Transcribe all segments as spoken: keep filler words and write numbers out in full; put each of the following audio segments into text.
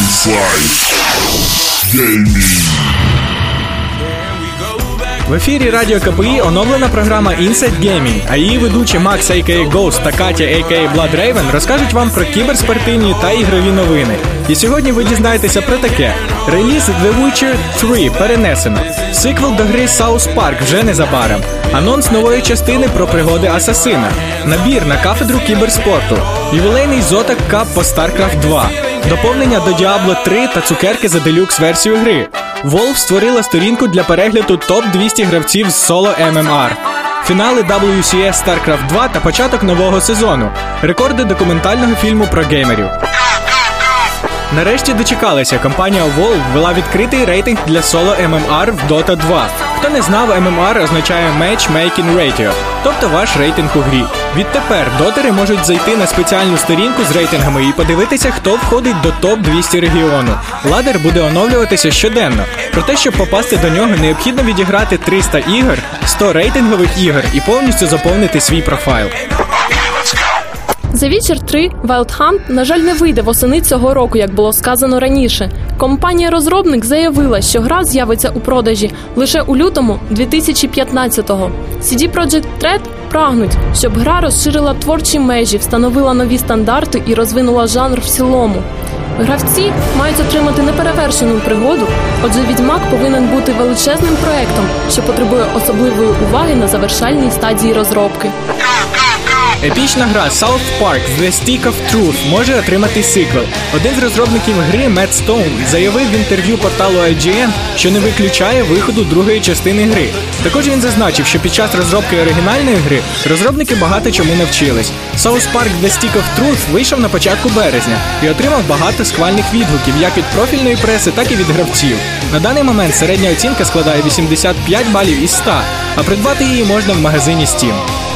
Inside Gaming. В ефірі Радіо КПІ оновлена програма Inside Gaming, а її ведучі Макс, а.к.а. Ghost та Катя, а.к.а. Blood Raven, розкажуть вам про кіберспортивні та ігрові новини. І сьогодні ви дізнаєтеся про таке. Реліз The Witcher три перенесено. Сиквел до гри South Park вже незабаром. Анонс нової частини про пригоди Асасина. Набір на кафедру кіберспорту. Ювілейний Zotac Cup по StarCraft два. Доповнення до Diablo три та цукерки за делюкс-версію гри. Valve створила сторінку для перегляду топ двісті гравців з Solo ем ем ар. Фінали дабл ю сі ес StarCraft два та початок нового сезону. Рекорди документального фільму про геймерів. Нарешті дочекалися. Компанія Valve ввела відкритий рейтинг для Solo ем ем ар в Dota два. Хто не знав, ем ем ар означає Matchmaking Ratio, тобто ваш рейтинг у грі. Відтепер дотери можуть зайти на спеціальну сторінку з рейтингами і подивитися, хто входить до топ двісті регіону. Ладер буде оновлюватися щоденно. Проте, щоб попасти до нього, необхідно відіграти триста ігор, сто рейтингових ігор і повністю заповнити свій профайл. The Witcher три Wild Hunt, на жаль, не вийде восени цього року, як було сказано раніше. Компанія-розробник заявила, що гра з'явиться у продажі лише у лютому дві тисячі п'ятнадцятого. сі ді Projekt Red прагнуть, щоб гра розширила творчі межі, встановила нові стандарти і розвинула жанр в цілому. Гравці мають отримати неперевершену пригоду, отже Відьмак повинен бути величезним проектом, що потребує особливої уваги на завершальній стадії розробки. Епічна гра South Park The Stick of Truth може отримати сиквел. Один з розробників гри, Мет Стоун, заявив в інтерв'ю порталу ай джі ен, що не виключає виходу другої частини гри. Також він зазначив, що під час розробки оригінальної гри розробники багато чому навчились. South Park The Stick of Truth вийшов на початку березня і отримав багато схвальних відгуків як від профільної преси, так і від гравців. На даний момент середня оцінка складає вісімдесят п'ять балів із ста, а придбати її можна в магазині Steam.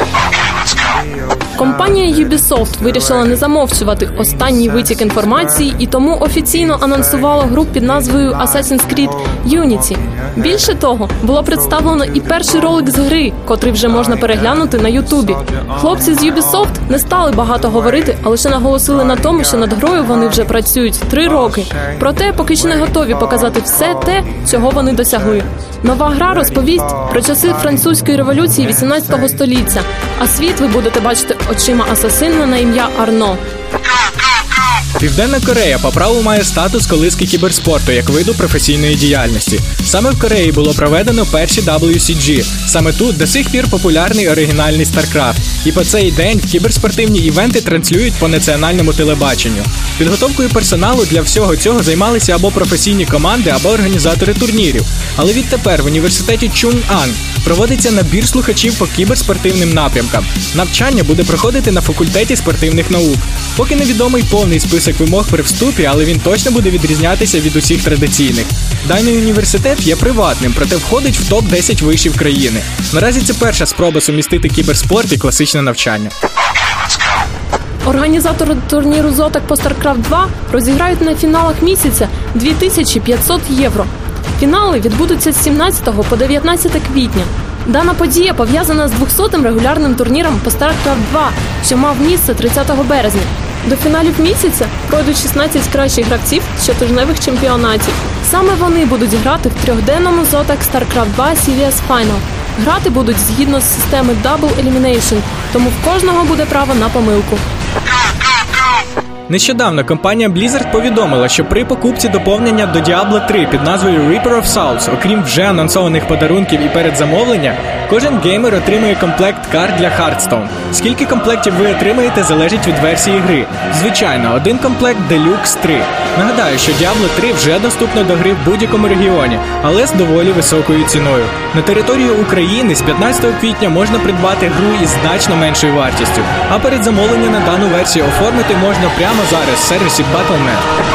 Компанія Ubisoft вирішила не замовчувати останній витік інформації і тому офіційно анонсувала гру під назвою Assassin's Creed Unity. Більше того, було представлено і перший ролик з гри, котрий вже можна переглянути на Ютубі. Хлопці з Ubisoft не стали багато говорити, а лише наголосили на тому, що над грою вони вже працюють три роки. Проте поки що не готові показати все те, чого вони досягли. Нова гра розповість про часи французької революції вісімнадцятого століття, а світ ви будете бачити очима асасина на ім'я Арно. Південна Корея по праву має статус колиски кіберспорту як виду професійної діяльності. Саме в Кореї було проведено перші дабл ю сі джі. Саме тут до сих пір популярний оригінальний StarCraft. І по цей день кіберспортивні івенти транслюють по національному телебаченню. Підготовкою персоналу для всього цього займалися або професійні команди, або організатори турнірів. Але відтепер в університеті Чун'ан проводиться набір слухачів по кіберспортивним напрямкам. Навчання буде проходити на факультеті спортивних наук. Поки невідомий повний список вимог при вступі, але він точно буде відрізнятися від усіх традиційних. Даний університет є приватним, проте входить в топ десять вишів країни. Наразі це перша спроба сумістити кіберспорт і класичне навчання. Організатори турніру Zotac по StarCraft два розіграють на фіналах місяця дві тисячі п'ятсот євро. Фінали відбудуться з сімнадцятого по дев'ятнадцяте квітня. Дана подія пов'язана з двохсотим регулярним турніром по StarCraft два, що мав місце тридцятого березня. До фіналів місяця пройдуть шістнадцять кращих гравців щотижневих чемпіонатів. Саме вони будуть грати в трьохденному Zotac StarCraft два Series Final. Грати будуть згідно з системи Double Elimination, тому в кожного буде право на помилку. Нещодавно компанія Blizzard повідомила, що при покупці доповнення до Diablo три під назвою Reaper of Souls, окрім вже анонсованих подарунків і передзамовлення, кожен геймер отримує комплект карт для Hearthstone. Скільки комплектів ви отримаєте, залежить від версії гри. Звичайно, один комплект Deluxe три. Нагадаю, що Diablo три вже доступно до гри в будь-якому регіоні, але з доволі високою ціною. На території України з п'ятнадцятого квітня можна придбати гру із значно меншою вартістю, а передзамовлення на дану версію оформити можна прямо зараз в сервісі батл точка нет.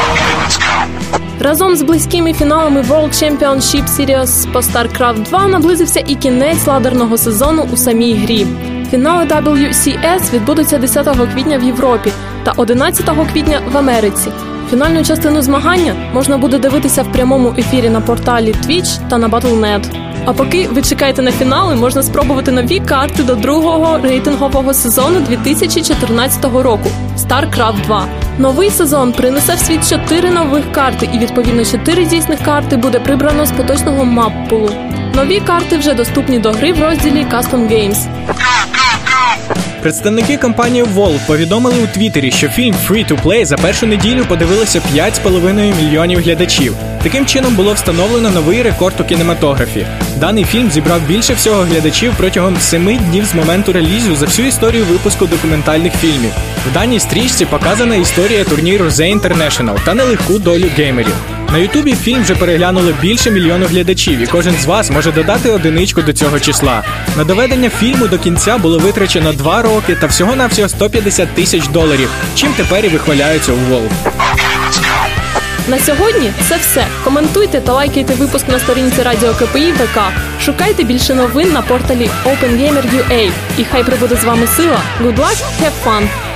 Разом з близькими фіналами World Championship Series по StarCraft два наблизився і кінець ладерного сезону у самій грі. Фінали дабл ю сі ес відбудуться десятого квітня в Європі та одинадцятого квітня в Америці. Фінальну частину змагання можна буде дивитися в прямому ефірі на порталі Twitch та на батл точка нет. А поки ви чекаєте на фінали, можна спробувати нові карти до другого рейтингового сезону дві тисячі чотирнадцятого року – StarCraft два. Новий сезон принесе в світ чотири нових карти, і відповідно чотири дійсних карти буде прибрано з поточного мап-пулу. Нові карти вже доступні до гри в розділі Custom Games. Представники компанії Valve повідомили у Твіттері, що фільм Free-to-Play за першу неділю подивилося п'ять з половиною мільйонів глядачів. Таким чином було встановлено новий рекорд у кінематографі. Даний фільм зібрав більше всього глядачів протягом семи днів з моменту релізу за всю історію випуску документальних фільмів. В даній стрічці показана історія турніру The International та нелегку долю геймерів. На Ютубі фільм вже переглянуло більше мільйону глядачів, і кожен з вас може додати одиничку до цього числа. На доведення фільму до кінця було витрачено два роки та всього-навсього сто п'ятдесят тисяч доларів, чим тепер і вихваляються у Valve. На сьогодні це все. Коментуйте та лайкайте випуск на сторінці Радіо КПІ ВК. Шукайте більше новин на порталі OpenGamer.ua. І хай прибуде з вами сила. Good luck, have fun!